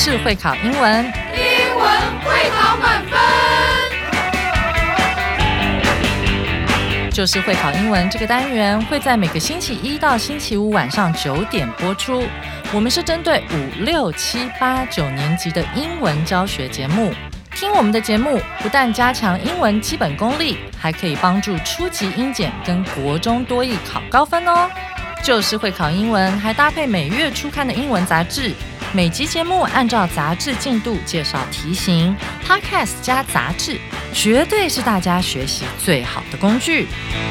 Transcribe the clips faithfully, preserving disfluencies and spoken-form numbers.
就是会考英文， 英文会考满分。 就是会考英文这个单元会在每个星期一到星期五晚上九点播出。我们是针对五六七八九年级的英文教学节目。听我们的节目，不但加强英文基本功力，还可以帮助初级英检跟国中多益考高分哦。就是会考英文，还搭配每月初刊的英文杂志。每集节目按照杂志进度介绍题型 ，Podcast 加杂志，绝对是大家学习最好的工具。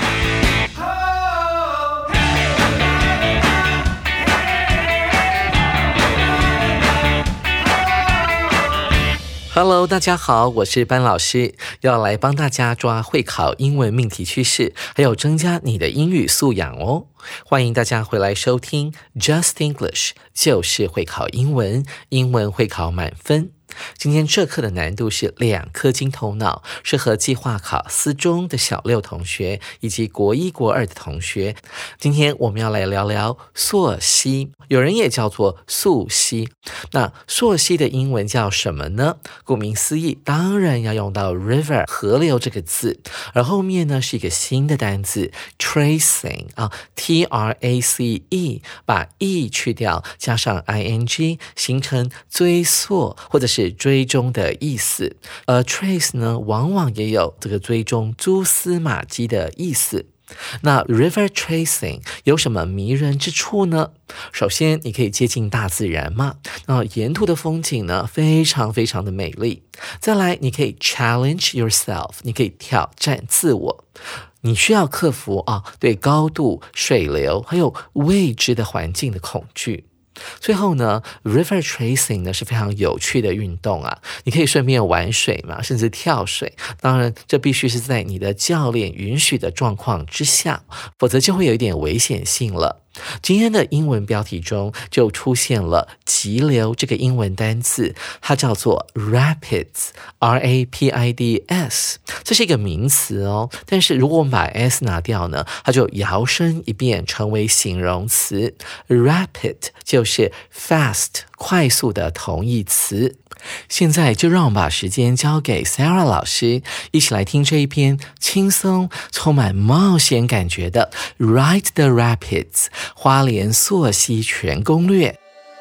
Hello， 大家好，我是班老师，要来帮大家抓会考英文命题趋势，还有增加你的英语素养哦。欢迎大家回来收听 Just English， 就是会考英文，英文会考满分。今天这课的难度是两颗金头脑，适合计划考私中的小六同学以及国一国二的同学。今天我们要来聊聊溯溪，有人也叫做溯溪。那溯溪的英文叫什么呢？顾名思义，当然要用到 river 河流这个字，而后面呢是一个新的单字 tracing 啊 T R A C E， 把 e 去掉，加上 ing， 形成追溯或者是追踪的意思。而 trace 呢，往往也有这个追踪蛛丝马迹的意思。那 river tracing 有什么迷人之处呢？首先你可以接近大自然嘛，那沿途的风景呢非常非常的美丽。再来你可以 challenge yourself， 你可以挑战自我，你需要克服啊对高度、水流还有未知的环境的恐惧。最后呢 river tracing 呢是非常有趣的运动啊，你可以顺便玩水嘛，甚至跳水。当然这必须是在你的教练允许的状况之下，否则就会有一点危险性了。今天的英文标题中就出现了急流这个英文单字，它叫做 rapids R A P I D S， 这是一个名词哦，但是如果我们把 s 拿掉呢，它就摇身一变成为形容词， rapid 就是 fast 快速的同义词。现在就让我们把时间交给 Sarah 老师，一起来听这一篇轻松充满冒险感觉的 Ride the Rapids 花莲溯溪全攻略。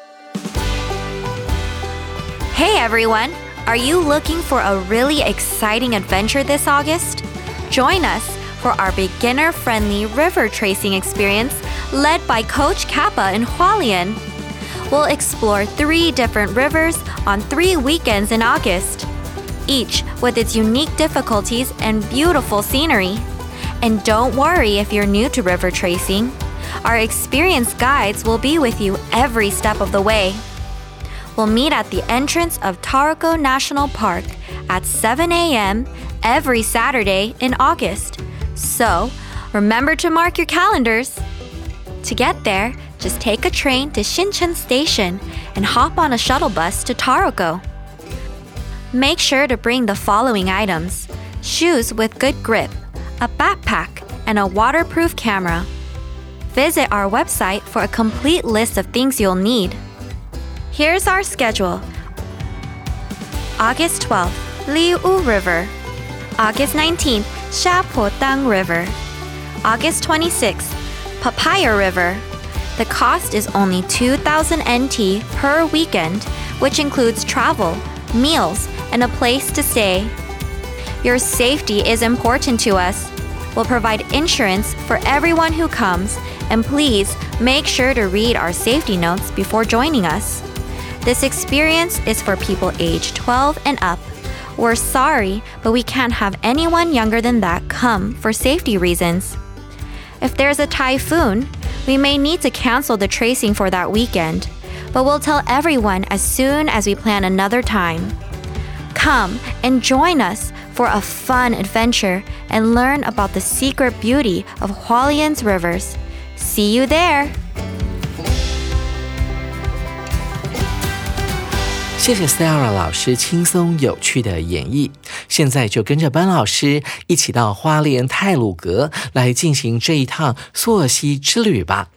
Hey everyone! Are you looking for a really exciting adventure this August? Join us for our beginner-friendly river tracing experience led by Coach Kappa in Hualien. We'll explore three different rivers on three weekends in August, each with its unique difficulties and beautiful scenery. And don't worry if you're new to river tracing. Our experienced guides will be with you every step of the way. We'll meet at the entrance of Taroko National Park at seven a.m. every Saturday in August. So, remember to mark your calendars. To get there, just take a train to Shincheon Station and hop on a shuttle bus to Taroko. Make sure to bring the following items: shoes with good grip, a backpack, and a waterproof camera. Visit our website for a complete list of things you'll need. Here's our schedule. August twelfth, Liu River. August nineteenth, Shapotang River. August twenty-sixth, Papaya River. The cost is only two thousand N T per weekend, which includes travel, meals, and a place to stay. Your safety is important to us. We'll provide insurance for everyone who comes, and please make sure to read our safety notes before joining us. This experience is for people aged twelve and up. We're sorry, but we can't have anyone younger than that come for safety reasons. If there's a typhoon, we may need to cancel the tracing for that weekend, but we'll tell everyone as soon as we plan another time. Come and join us for a fun adventure and learn about the secret beauty of Hualien's rivers. See you there! 谢谢 Sarah 老师轻松有趣的演绎，现在就跟着班老师一起到花莲太鲁阁来进行这一趟溯溪之旅吧。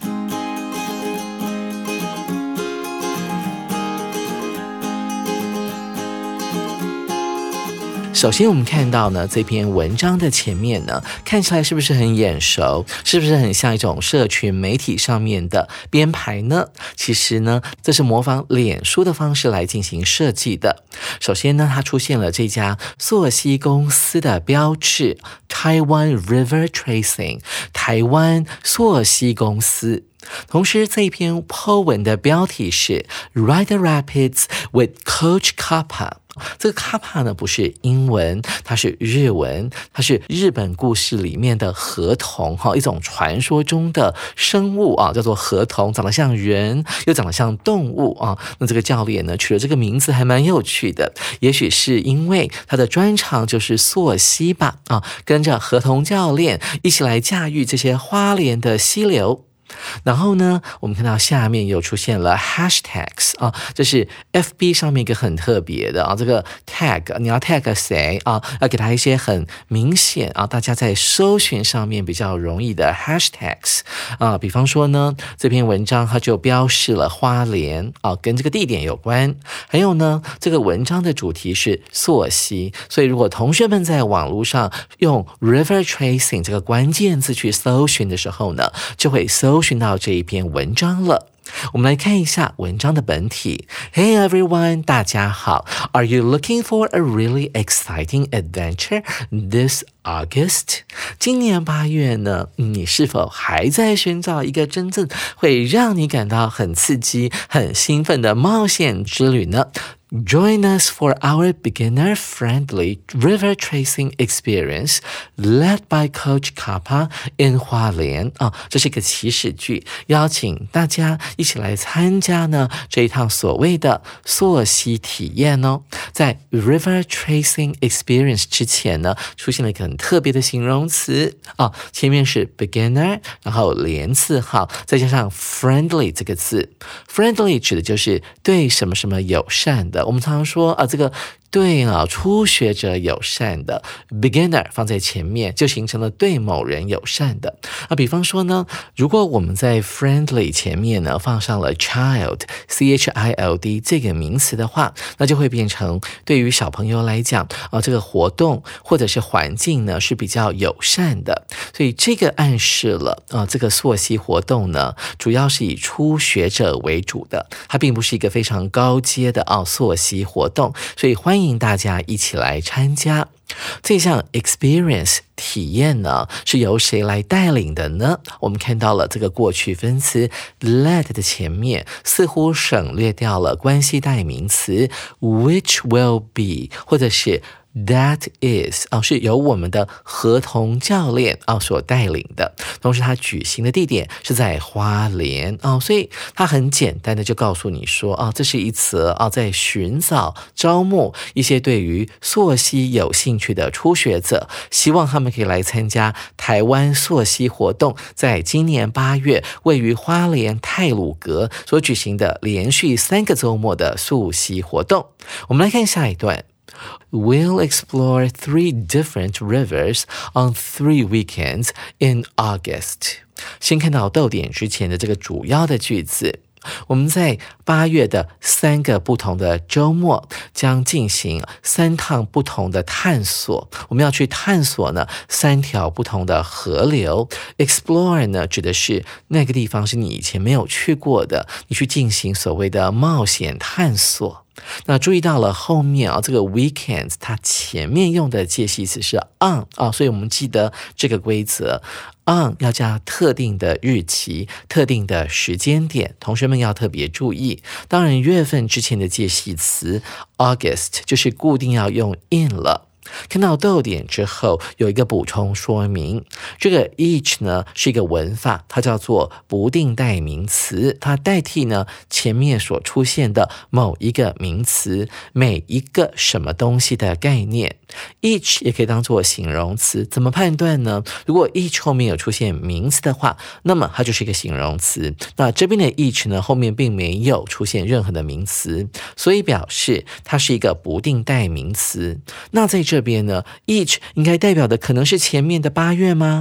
首先我们看到呢，这篇文章的前面呢，看起来是不是很眼熟？是不是很像一种社群媒体上面的编排呢？其实呢，这是模仿脸书的方式来进行设计的。首先呢，它出现了这家溯溪公司的标志 Taiwan River Tracing 台湾溯溪公司。同时这一篇 po 文的标题是 Ride the Rapids with Coach Kappa。 这个 Kappa 呢不是英文，它是日文，它是日本故事里面的河童，一种传说中的生物啊，叫做河童，长得像人又长得像动物啊。那这个教练呢取了这个名字还蛮有趣的，也许是因为他的专长就是溯溪吧啊，跟着河童教练一起来驾驭这些花莲的溪流。然后呢，我们看到下面又出现了 hashtags 啊，这是 F B 上面一个很特别的啊，这个 tag 你要 tag 谁啊？要给他一些很明显啊，大家在搜寻上面比较容易的 hashtags 啊，比方说呢，这篇文章它就标示了花莲啊，跟这个地点有关。还有呢，这个文章的主题是溯溪，所以如果同学们在网络上用 river tracing 这个关键字去搜寻的时候呢，就会搜搜寻到这一篇文章了。我们来看一下文章的本体。 Hey everyone， 大家好。 Are you looking for a really exciting adventure this August？ 今年八月呢，你是否还在寻找一个真正会让你感到很刺激、很兴奋的冒险之旅呢？Join us for our beginner-friendly river tracing experience led by Coach Kappa in 花莲啊，这是一个祈使句，邀请大家一起来参加呢这一趟所谓的溯溪体验哦。在 river tracing experience 之前呢，出现了一个很特别的形容词啊，前面是 beginner， 然后连字号，再加上 friendly 这个字。friendly 指的就是对什么什么友善的。我们常常说啊，这个对啊，初学者友善的 beginner 放在前面，就形成了对某人友善的。啊，比方说呢，如果我们在 friendly 前面呢放上了 child C H I L D 这个名词的话，那就会变成对于小朋友来讲啊，这个活动或者是环境呢是比较友善的。所以这个暗示了啊，这个溯溪活动呢，主要是以初学者为主的，它并不是一个非常高阶的啊溯溪活动，所以欢迎大家一起来参加。这项 experience 体验呢，是由谁来带领的呢？我们看到了这个过去分词 led 的前面似乎省略掉了关系代名词 which will be 或者是That is 啊，是由我们的河童教练啊所带领的，同时他举行的地点是在花莲啊，所以他很简单的就告诉你说啊，这是一次啊在寻找招募一些对于溯溪有兴趣的初学者，希望他们可以来参加台湾溯溪活动，在今年八月位于花莲太鲁阁所举行的连续三个周末的溯溪活动。我们来看下一段。We'll explore three different rivers on three weekends in August。 先看到逗点之前的这个主要的句子，我们在八月的三个不同的周末将进行三趟不同的探索。我们要去探索呢三条不同的河流。 Explore 呢指的是那个地方是你以前没有去过的，你去进行所谓的冒险探索。那注意到了后面啊，这个 weekends 它前面用的介系词是 on 啊，所以我们记得这个规则 on 要加特定的日期、特定的时间点，同学们要特别注意。当然月份之前的介系词 August 就是固定要用 in 了。看到逗点之后有一个补充说明，这个 each 呢是一个文法，它叫做不定代名词，它代替呢前面所出现的某一个名词，每一个什么东西的概念。each 也可以当作形容词，怎么判断呢？如果 each 后面有出现名词的话，那么它就是一个形容词。那这边的 each 呢后面并没有出现任何的名词，所以表示它是一个不定代名词。那在这这边呢 each 应该代表的可能是前面的八月吗？还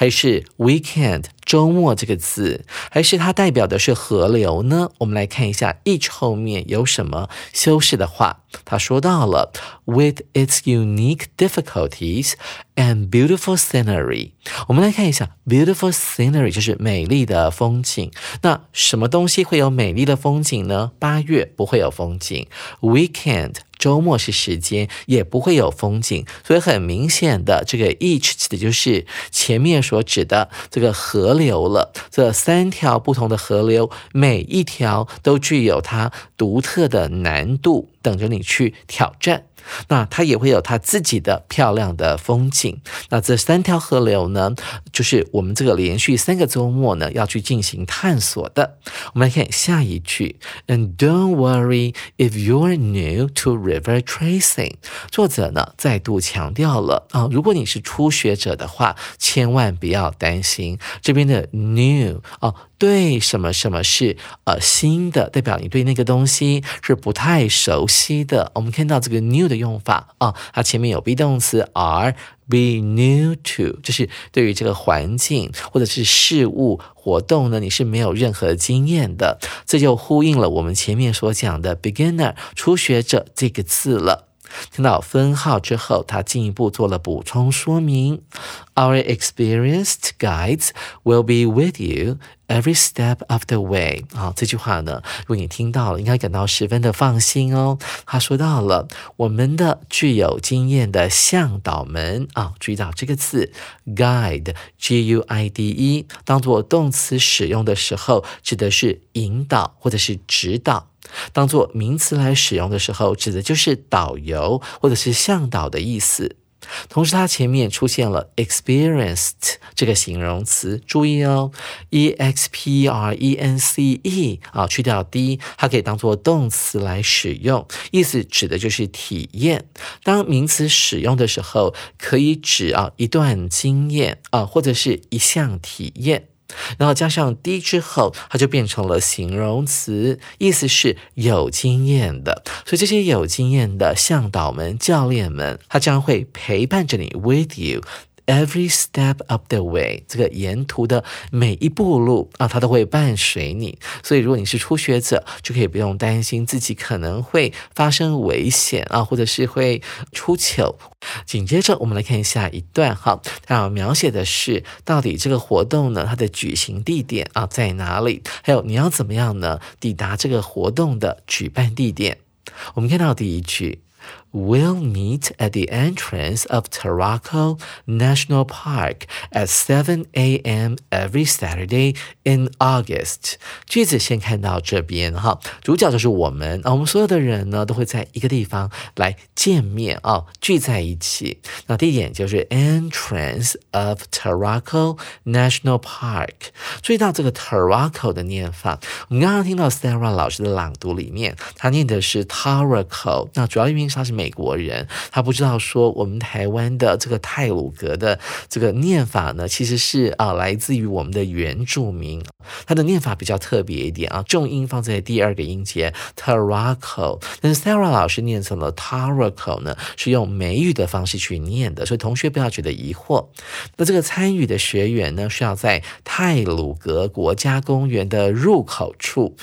还是 weekend 周末这个字，还是它代表的是河流呢？我们来看一下 each 后面有什么修饰的话。他说到了 with its unique difficulties and beautiful scenery。 我们来看一下 beautiful scenery 就是美丽的风景。那什么东西会有美丽的风景呢？八月不会有风景， weekend周末是时间，也不会有风景。所以很明显的，这个 each 指的就是前面所指的这个河流了。这三条不同的河流，每一条都具有它独特的难度，等着你去挑战。那它也会有它自己的漂亮的风景。那这三条河流呢，就是我们这个连续三个周末呢要去进行探索的。我们来看下一句 And don't worry if you're new to river tracing。 作者呢再度强调了啊，如果你是初学者的话，千万不要担心。这边的 new 啊，对什么什么是呃新的，代表你对那个东西是不太熟悉的。我们看到这个 new 的用法啊，它前面有 be 动词 are be new to， 就是对于这个环境或者是事物活动呢，你是没有任何经验的。这就呼应了我们前面所讲的 beginner 初学者这个字了。听到分号之后，他进一步做了补充说明 Our experienced guides will be with you every step of the way。 好，这句话呢，如果你听到了，应该感到十分的放心哦。他说到了我们的具有经验的向导们啊，注意到这个字 guide G U I D E 当作动词使用的时候，指的是引导或者是指导。当作名词来使用的时候，指的就是导游或者是向导的意思。同时它前面出现了 experienced 这个形容词，注意哦 E X P R E N C E 啊，去掉 D， 它可以当作动词来使用，意思指的就是体验。当名词使用的时候，可以指啊一段经验啊，或者是一项体验。然后加上 D 之后，它就变成了形容词，意思是有经验的。所以这些有经验的向导们、教练们，他将会陪伴着你 with you every step of the way， 这个沿途的每一步路啊，它都会伴随你。所以如果你是初学者，就可以不用担心自己可能会发生危险啊，或者是会出糗。紧接着我们来看下一段哈，它描写的是到底这个活动呢，它的举行地点啊在哪里，还有你要怎么样呢抵达这个活动的举办地点。我们看到第一句We'll meet at the entrance of Tarraco National Park at seven a m every Saturday in August。 句子先看到这边哈，主角就是我们啊，我们所有的人呢都会在一个地方来见面啊，聚在一起。那地点就是 entrance of Tarraco National Park。 注意到这个 Tarraco 的念法，我们刚刚听到 Sarah 老师的朗读里面，他念的是 Tarraco， 那主要因为他是美国人，他不知道说我们台湾的这个太鲁阁的这个念法呢，其实是啊来自于我们的原住民，它的念法比较特别一点啊，重音放在第二个音节 Tarraco， 但是 Sarah 老师念成了 Tarraco 呢，是用美语的方式去念的，所以同学不要觉得疑惑。那这个参与的学员呢，是要在太鲁阁国家公园的入口处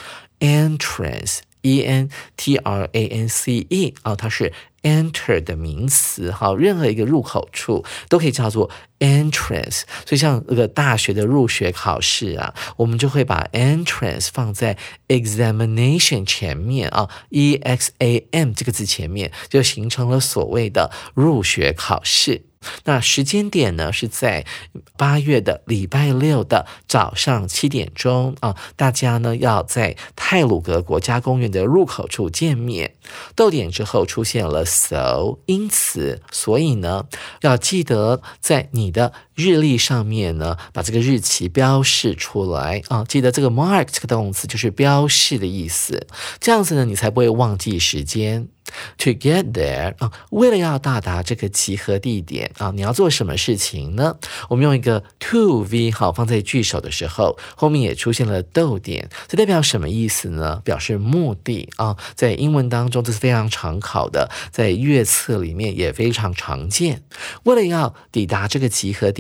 entrance E N T R A N C E 啊，它是 enter 的名词，好，任何一个入口处都可以叫做 entrance。 所以像这个大学的入学考试啊，我们就会把 entrance 放在 examination 前面啊 E X A M 这个字前面，就形成了所谓的入学考试。那时间点呢是在八月的礼拜六的早上七点钟啊，大家呢要在太鲁阁国家公园的入口处见面。逗点之后出现了 so， 因此所以呢要记得在你的日历上面呢把这个日期标示出来啊，记得这个 mark 这个动词就是标示的意思，这样子呢你才不会忘记时间。To get there 啊，为了要到达这个集合地点啊，你要做什么事情呢？我们用一个 to V 好放在句首的时候，后面也出现了逗点，这代表什么意思呢？表示目的啊，在英文当中这是非常常考的，在阅册里面也非常常见。为了要抵达这个集合地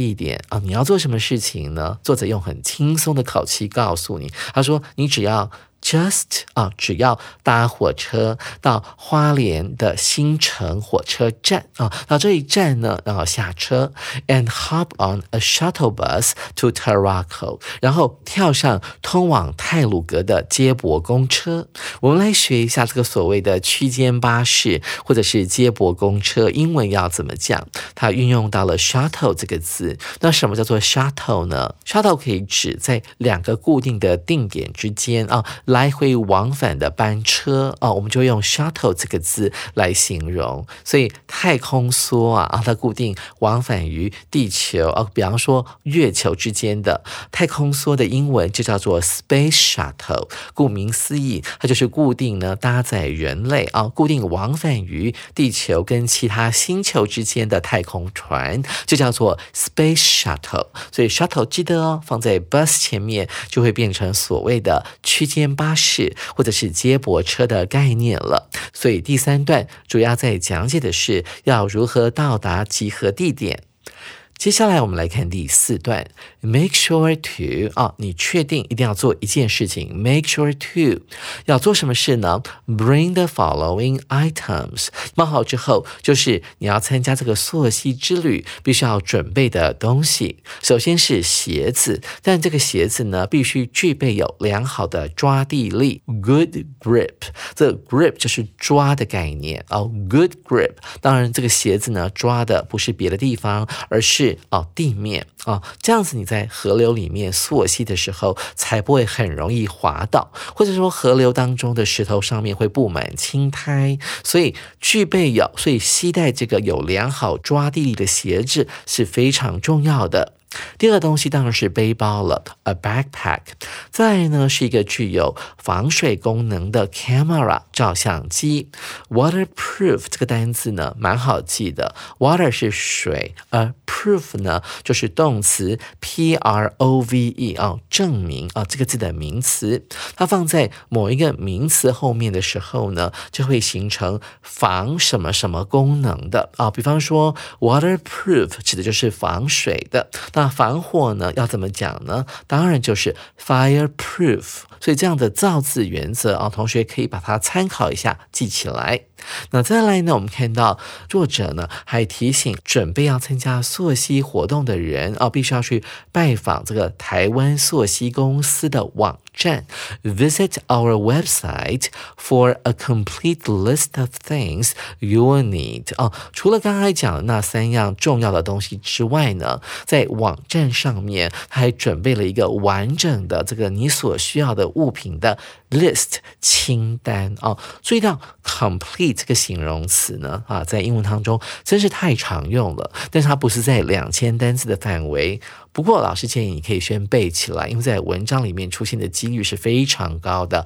一点啊，你要做什么事情呢？作者用很轻松的口气告诉你，他说你只要Just 啊，只要搭火车到花莲的新城火车站啊，到这一站呢，然后下车 and hop on a shuttle bus to Tarraco， 然后跳上通往太鲁阁的接驳公车。我们来学一下这个所谓的区间巴士或者是接驳公车，英文要怎么讲？它运用到了 shuttle 这个字。那什么叫做 shuttle 呢？ shuttle 可以指在两个固定的定点之间啊。来回往返的班车啊，我们就用 shuttle 这个字来形容。所以太空梭啊，啊它固定往返于地球啊，比方说月球之间的太空梭的英文就叫做 space shuttle。顾名思义，它就是固定呢搭载人类啊，固定往返于地球跟其他星球之间的太空船，就叫做 space shuttle。所以 shuttle 记得哦，放在 bus 前面就会变成所谓的区间巴士或者是接驳车的概念了。所以第三段主要在讲解的是要如何到达集合地点。接下来我们来看第四段 make sure to 啊，你确定一定要做一件事情 make sure to 要做什么事呢？ bring the following items 冒号之后就是你要参加这个溯溪之旅必须要准备的东西。首先是鞋子，但这个鞋子呢必须具备有良好的抓地力 good grip， 这个 grip 就是抓的概念哦 good grip。 当然这个鞋子呢抓的不是别的地方，而是哦，地面哦，这样子你在河流里面溯溪的时候才不会很容易滑倒，或者说河流当中的石头上面会布满青苔。所以具备有，所以携带这个有良好抓地力的鞋子是非常重要的。第二个东西当然是背包了 a backpack。 再来呢是一个具有防水功能的 camera 照相机。 waterproof 这个单字呢蛮好记的， water 是水，而 proof 呢就是动词 P R O V E 啊、哦，证明啊、哦、这个字的名词。它放在某一个名词后面的时候呢，就会形成防什么什么功能的啊、哦。比方说 waterproof 指的就是防水的。那防火呢要怎么讲呢？当然就是 fireproof。 所以这样的造字原则啊，同学可以把它参考一下记起来。那再来呢，我们看到作者呢还提醒准备要参加溯溪活动的人啊，必须要去拜访这个台湾溯溪公司的网站 Visit our website for a complete list of things you will need 啊。除了刚才讲的那三样重要的东西之外呢，在网站上面他还准备了一个完整的这个你所需要的物品的 list 清单啊。注意到 complete 这个形容词呢啊，在英文当中真是太常用了，但是它不是在两千单字的范围。不过老师建议你可以先背起来，因为在文章里面出现的几率是非常高的。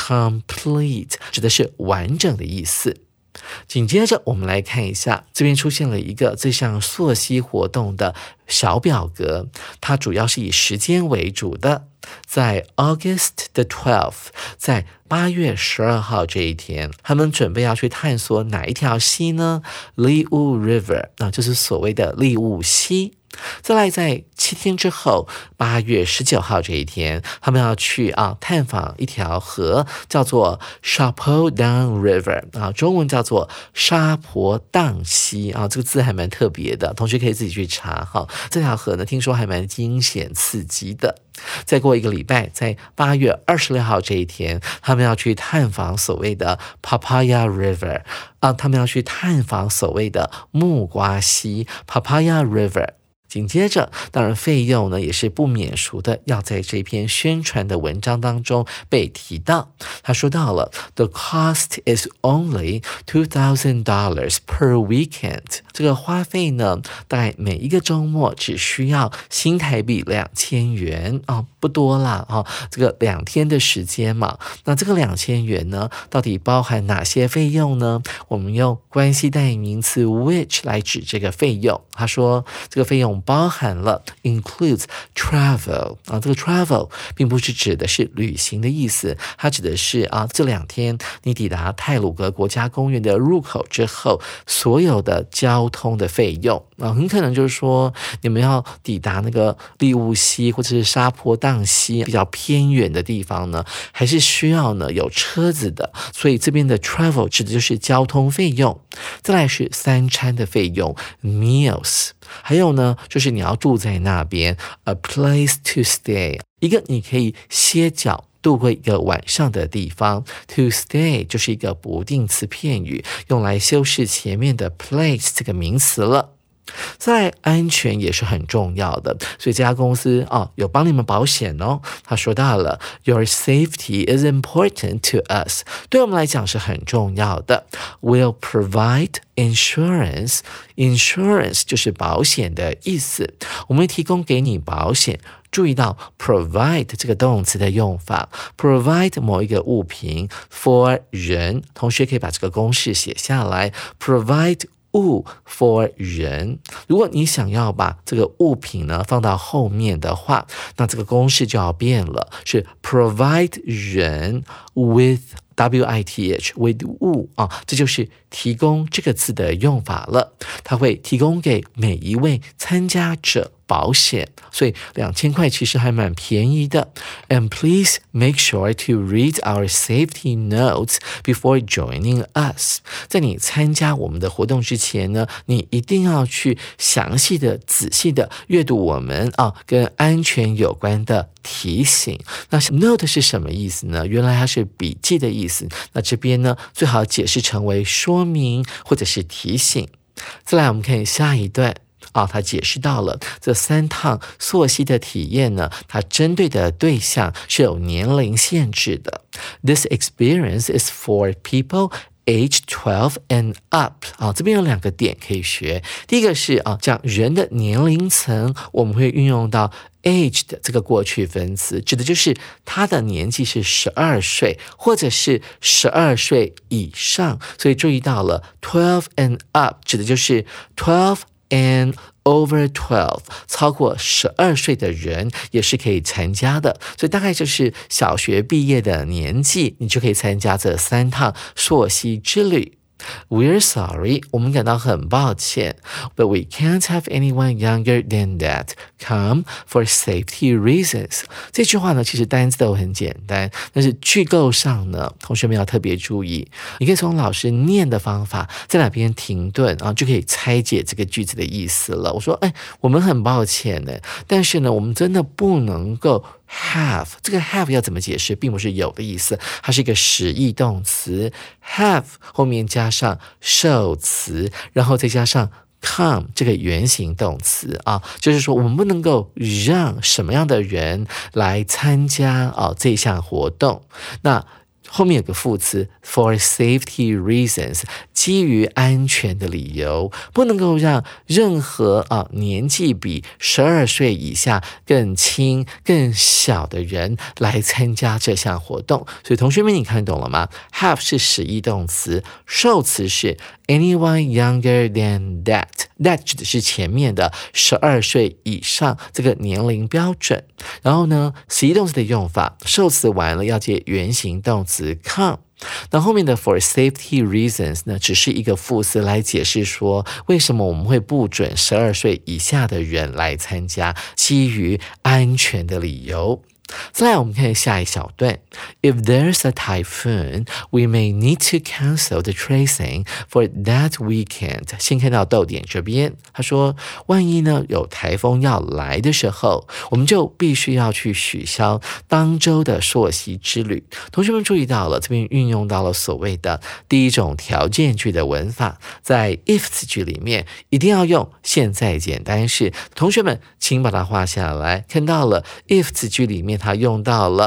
complete 指的是完整的意思。紧接着我们来看一下，这边出现了一个这项溯溪活动的小表格，它主要是以时间为主的。在 August the twelfth， 在八月十二号这一天，他们准备要去探索哪一条溪呢？ Liu River， 那就是所谓的利物溪。再来在七天之后，八月十九号这一天，他们要去啊探访一条河，叫做 Chapodon River 啊，中文叫做沙婆荡溪啊，这个字还蛮特别的，同学可以自己去查哈。这条河呢，听说还蛮惊险刺激的。再过一个礼拜，在八月二十六号这一天，他们要去探访所谓的 Papaya River 啊，他们要去探访所谓的木瓜溪 Papaya River。紧接着，当然费用呢也是不免俗的，要在这篇宣传的文章当中被提到。他说到了 The cost is only two thousand dollars per weekend， 这个花费呢大概每一个周末只需要新台币两千元啊、哦，不多啦啊、哦，这个两天的时间嘛。那这个两千元呢到底包含哪些费用呢？我们用关系代名词 which 来指这个费用。他说这个费用包含了 includes travel 啊，这个 travel 并不是指的是旅行的意思，它指的是啊，这两天你抵达太鲁阁国家公园的入口之后，所有的交通的费用啊，很可能就是说你们要抵达那个利物溪或者是沙坡荡溪比较偏远的地方呢，还是需要呢有车子的，所以这边的 travel 指的就是交通费用。再来是三餐的费用 meals， 还有呢就是你要住在那边 a place to stay， 一个你可以歇脚度过一个晚上的地方。 to stay 就是一个不定词片语，用来修饰前面的 place 这个名词了。在安全也是很重要的，所以这家公司哦有帮你们保险哦。他说到了 Your safety is important to us， 对我们来讲是很重要的。 We'll provide insurance， insurance 就是保险的意思，我们会提供给你保险。注意到 provide 这个动词的用法， provide 某一个物品 for 人，同学可以把这个公式写下来， provide物 for 人。如果你想要把这个物品呢放到后面的话，那这个公式就要变了，是 provide 人 with W I T H with 物啊，这就是提供这个字的用法了。它会提供给每一位参加者保险，所以两千块其实还蛮便宜的。And please make sure to read our safety notes before joining us。在你参加我们的活动之前呢，你一定要去详细的、仔细的阅读我们啊跟安全有关的提醒。那 note 是什么意思呢？原来它是笔记的意思。那这边呢，最好解释成为说明或者是提醒。再来，我们看下一段。啊，他解释到了这三趟溯溪的体验呢，它针对的对象是有年龄限制的。This experience is for people age twelve and up。啊，这边有两个点可以学。第一个是啊，讲人的年龄层，我们会运用到age 的这个过去分词，指的就是他的年纪是十二岁，或者是十二岁以上。所以注意到了 twelve and up 指的就是 twelve and over twelve， 超过十二岁的人也是可以参加的，所以大概就是小学毕业的年纪，你就可以参加这三趟溯溪之旅。We're sorry， 我们感到很抱歉 ，but we can't have anyone younger than that come for safety reasons。这句话呢，其实单词都很简单，但是句构上呢，同学们要特别注意。你可以从老师念的方法，在哪边停顿啊，就可以拆解这个句子的意思了。我说，哎，我们很抱歉呢，但是呢，我们真的不能够。have 这个 have 要怎么解释，并不是有的意思，它是一个实义动词 have 后面加上受词，然后再加上 come 这个原形动词啊，就是说我们不能够让什么样的人来参加啊这项活动。那后面有个副词 for safety reasons， 基于安全的理由，不能够让任何啊年纪比十二岁以下更轻更小的人来参加这项活动。所以同学们你看懂了吗？ have 是实义动词，受词是 anyone younger than that， that 指的是前面的十二岁以上这个年龄标准。然后呢，实义动词的用法，受词完了要接原形动词 come。那后面的 for safety reasons 呢，只是一个副词来解释说为什么我们会不准十二岁以下的人来参加，基于安全的理由。再来我们看下一小段 If there's a typhoon, we may need to cancel the tracing for that weekend。 先看到逗点这边，他说万一呢有台风要来的时候，我们就必须要去取消当周的溯溪之旅。同学们注意到了，这边运用到了所谓的第一种条件句的文法，在 if 词句里面一定要用现在简单式。同学们请把它画下来，看到了 if 词句里面它用到了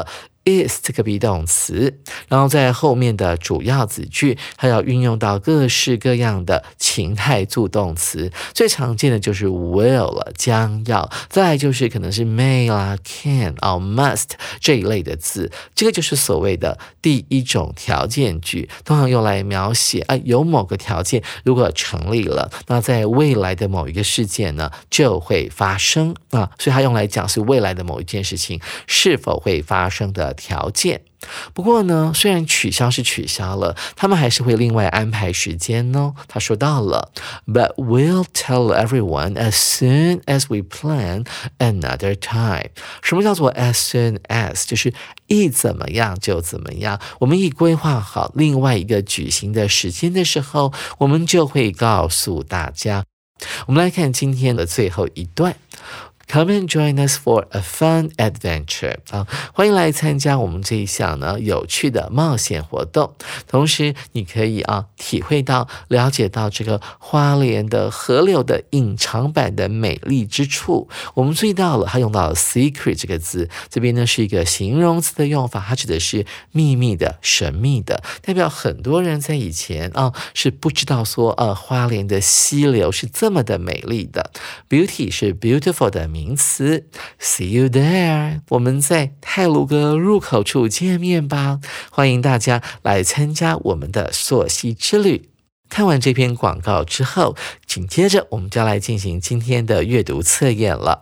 is 这个 be 动词，然后在后面的主要子句还要运用到各式各样的情态助动词，最常见的就是 will 了，将要，再来就是可能是 may 啦 can 啊 must 这一类的字，这个就是所谓的第一种条件句，通常用来描写啊有某个条件如果成立了，那在未来的某一个事件呢就会发生啊，所以它用来讲是未来的某一件事情是否会发生的条件。不过呢，虽然取消是取消了，他们还是会另外安排时间呢。他说到了 But we'll tell everyone as soon as we plan another time。 什么叫做 as soon as？ 就是一怎么样就怎么样，我们一规划好另外一个举行的时间的时候，我们就会告诉大家。我们来看今天的最后一段Come and join us for a fun adventure 啊，欢迎来参加我们这一项呢有趣的冒险活动。同时，你可以啊体会到、了解到这个花莲的河流的隐藏版的美丽之处。我们注意到了，它用到了 secret 这个字，这边呢是一个形容词的用法，它指的是秘密的、神秘的，代表很多人在以前啊是不知道说呃花莲的溪流是这么的美丽的。Beauty 是 beautiful 的名词 See you there， 我们在太鲁阁入口处见面吧，欢迎大家来参加我们的溯溪之旅。看完这篇广告之后，紧接着我们就要来进行今天的阅读测验了。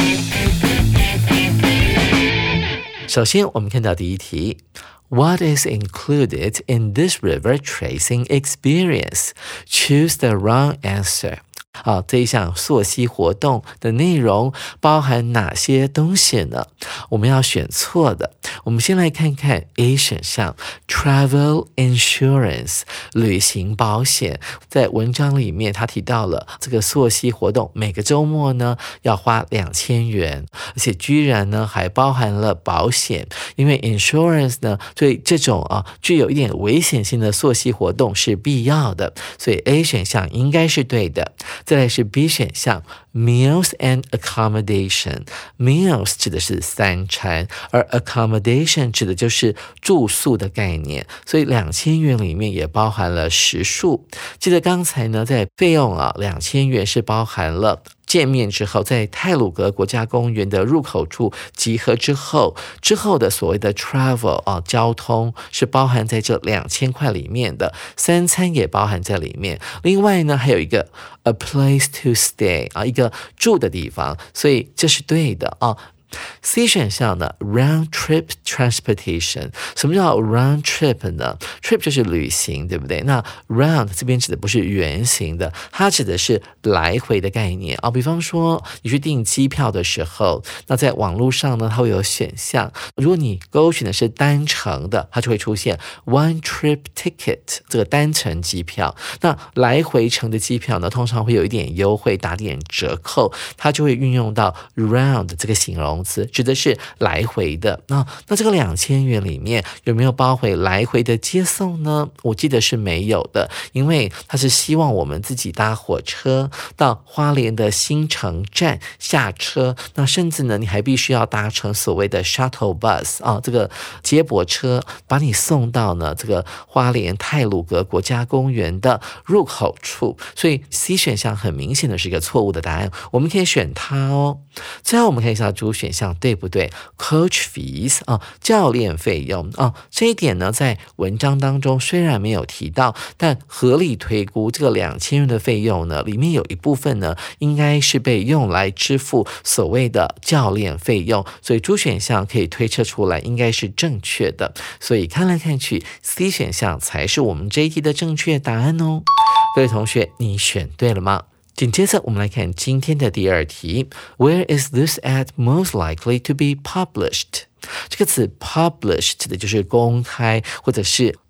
首先我们看到第一题What is included in this river tracing experience? Choose the wrong answer. 好，这一项溯溪活动的内容包含哪些东西呢？我们要选错的。我们先来看看 A 选项 Travel Insurance 旅行保险。在文章里面他提到了这个溯溪活动每个周末呢要花两千元，而且居然呢还包含了保险，因为 Insurance 呢对这种啊具有一点危险性的溯溪活动是必要的，所以 A 选项应该是对的。再来是 B 选项 Meals and Accommodation。 Meals 指的是三餐，而 Accommodation 指的就是住宿的概念，所以两千元里面也包含了食宿。记得刚才呢在费用啊两千元是包含了见面之后，在太鲁阁国家公园的入口处集合之后，之后的所谓的 travel 啊，交通是包含在这两千块里面的，三餐也包含在里面。另外呢，还有一个 a place to stay 啊，一个住的地方，所以这是对的啊。C 选项呢 round trip transportation。 什么叫 round trip 呢？ trip 就是旅行，对不对？那 round 这边指的不是圆形的，它指的是来回的概念啊。比方说你去订机票的时候，那在网络上呢它会有选项，如果你勾选的是单程的，它就会出现 one trip ticket 这个单程机票。那来回程的机票呢通常会有一点优惠，打点折扣，它就会运用到 round 这个形容词，指的是来回的。那那这个两千元里面有没有包回来回的接送呢？我记得是没有的，因为它是希望我们自己搭火车到花莲的新城站下车，那甚至呢你还必须要搭乘所谓的 shuttle bus 啊，这个接驳车把你送到呢这个花莲太鲁阁国家公园的入口处，所以 C 选项很明显的是一个错误的答案，我们可以选它哦。最后我们看一下主选项对不对 Coach fees 啊，教练费用啊，这一点呢在文章当中虽然没有提到，但合理推估这个两千元的费用呢里面有一部分呢应该是被用来支付所谓的教练费用，所以主选项可以推测出来应该是正确的，所以看来看去 C 选项才是我们这一题的正确答案哦。各位同学，你选对了吗？紧接着我们来看今天的第二题 Where is this ad most likely to be published? 这个词 publish 指的就是公开或者是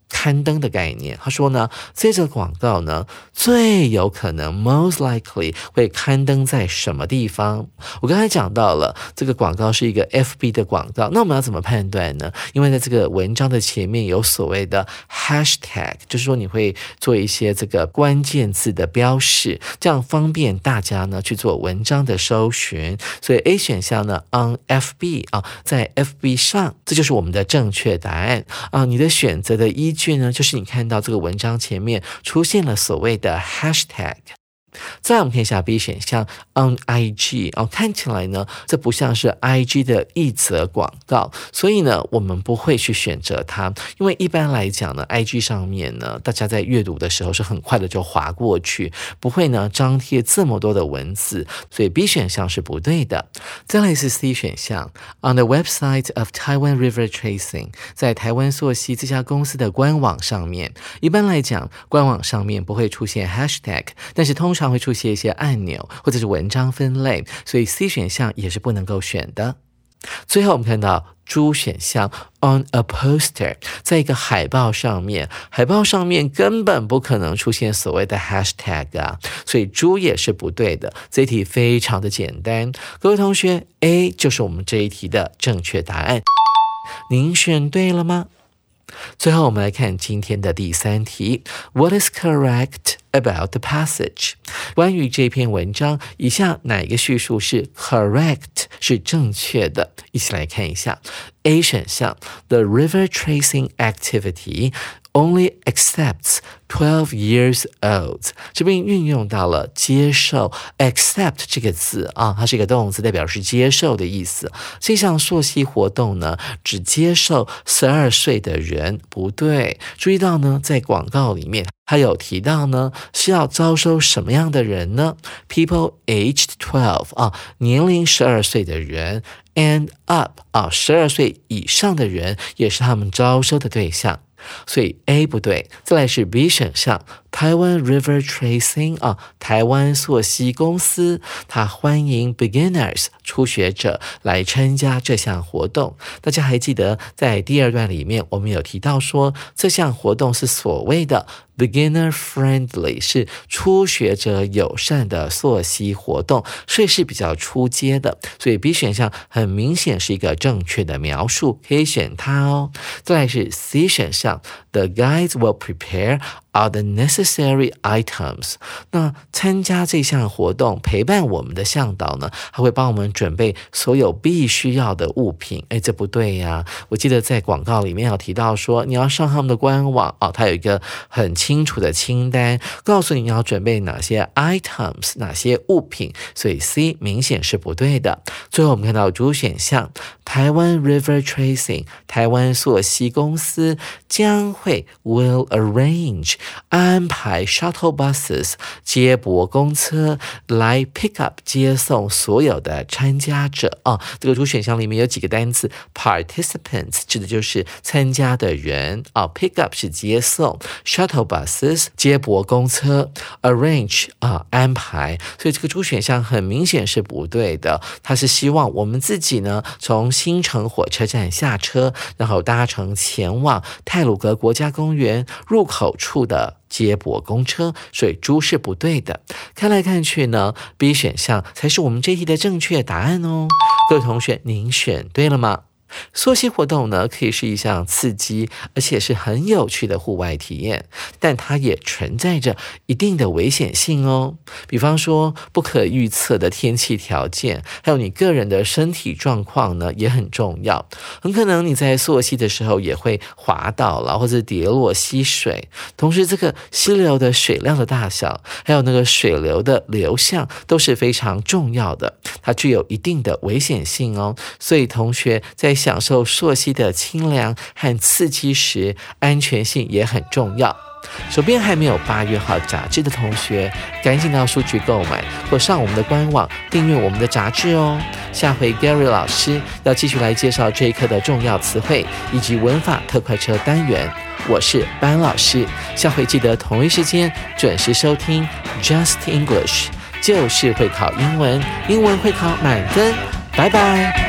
刊登的概念。他说呢，这个广告呢最有可能 most likely 会刊登在什么地方。我刚才讲到了这个广告是一个 F B 的广告，那我们要怎么判断呢？因为在这个文章的前面有所谓的 hashtag， 就是说你会做一些这个关键字的标示，这样方便大家呢去做文章的搜寻。所以 A 选项呢 on F B 啊，在 F B 上，这就是我们的正确答案啊。你的选择的依据呢，就是你看到这个文章前面出现了所谓的 hashtag。再来我们看一下 B 选项 on I G 哦，看起来呢这不像是 I G 的一则广告，所以呢我们不会去选择它，因为一般来讲呢 I G 上面呢大家在阅读的时候是很快的就滑过去，不会呢张贴这么多的文字，所以 B 选项是不对的。再来是 C 选项 on the website of Taiwan River Tracing， 在台湾溯溪这家公司的官网上面，一般来讲官网上面不会出现 hashtag， 但是通常会出现一些按钮或者是文章分类，所以 C 选项也是不能够选的。最后我们看到D选项 on a poster， 在一个海报上面，海报上面根本不可能出现所谓的 hashtag 啊，所以 D 也是不对的。这一题非常的简单，各位同学 A 就是我们这一题的正确答案，您选对了吗？最后我们来看今天的第三题 What is correct about the passage？ 关于这篇文章，以下哪一个叙述是 correct 是正确的？一起来看一下 A 选项 The river tracing activity only accepts twelve years old， 这边运用到了接受 accept 这个字啊，它是一个动词，代表是接受的意思。这项溯溪活动呢，只接受十二岁的人，不对。注意到呢，在广告里面他有提到呢，是要招收什么样的人呢 ？People aged twelve 啊，年龄十二岁的人 ，and up 啊，十二岁以上的人也是他们招收的对象。所以 A 不对，再来是 B 选项 Taiwan River Tracing 啊，台湾溯溪公司，它欢迎 beginners 初学者来参加这项活动。大家还记得在第二段里面我们有提到说，这项活动是所谓的 beginner friendly， 是初学者友善的溯溪活动，所以是比较初阶的，所以 B 选项很明显是一个正确的描述，可以选它哦。再来是 C 选项 The guides will prepare are the necessary items。 那参加这项活动陪伴我们的向导呢，他会帮我们准备所有必须要的物品。诶，这不对呀，我记得在广告里面有提到说你要上他们的官网哦，它有一个很清楚的清单，告诉你要准备哪些 items 哪些物品，所以 C 明显是不对的。最后我们看到主选项台湾 River Tracing 台湾溯溪公司将会 will arrange 安排 shuttle buses 接驳公车来 pick up 接送所有的参加者啊、哦，这个主选项里面有几个单词 participants 指的就是参加的人啊、哦、，pick up 是接送 ，shuttle buses 接驳公车 ，arrange 啊安排，所以这个主选项很明显是不对的，它是希望我们自己呢从新城火车站下车，然后搭乘前往太鲁阁国家公园入口处的接驳公车，所以猪是不对的。看来看去呢 ，B 选项才是我们这题的正确答案哦。各位同学，您选对了吗？溯溪活动呢，可以是一项刺激而且是很有趣的户外体验，但它也存在着一定的危险性哦。比方说不可预测的天气条件，还有你个人的身体状况呢也很重要。很可能你在溯溪的时候也会滑倒了，或者跌落溪水。同时这个溪流的水量的大小，还有那个水流的流向都是非常重要的，它具有一定的危险性哦。所以同学在享受溯溪的清凉和刺激时，安全性也很重要。手边还没有八月号杂志的同学，赶紧到书局购买，或上我们的官网订阅我们的杂志哦。下回 Gary 老师要继续来介绍这一课的重要词汇以及文法特快车单元。我是班老师，下回记得同一时间准时收听 Just English， 就是会考英文，英文会考满分。拜拜。